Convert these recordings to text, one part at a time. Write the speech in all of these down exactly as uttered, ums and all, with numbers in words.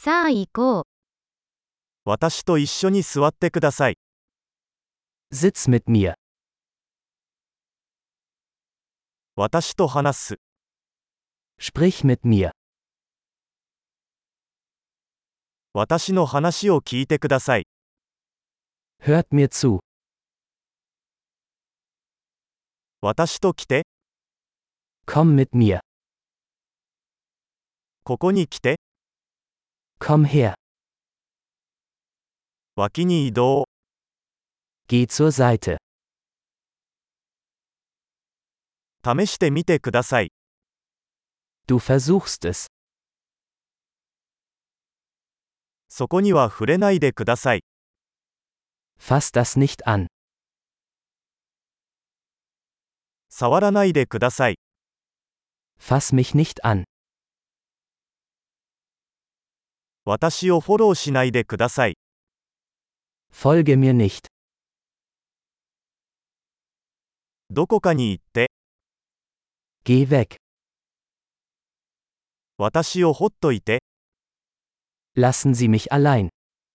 さあ行こう。 私と一緒に座ってください。 Sitz mit mir. 私と話す。 Sprich mit mir. 私の話を聞いてください。 Hört mir zu. 私と来て。 Komm mit mir. ここに来て。 Komm her. 脇に移動。 Geh zur Seite. 試してみてください。 Du versuchst es. そこには触れないでください。 Fass das nicht an. 触らないでください。 Fass mich nicht an. 私をフォローしないでください。 Folge mir nicht. どこかに行って。 Geh weg. 私をほっといて。 Lassen Sie mich allein.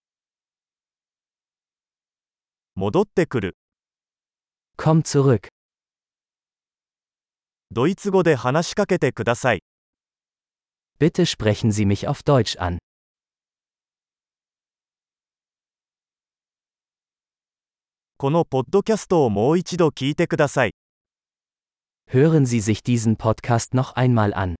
戻ってくる。 Komm zurück. ドイツ語で話しかけてください。 Bitte sprechen Sie mich auf Deutsch an. このポッドキャストをもう一度聞いてください。 Hören Sie sich diesen Podcast noch einmal an.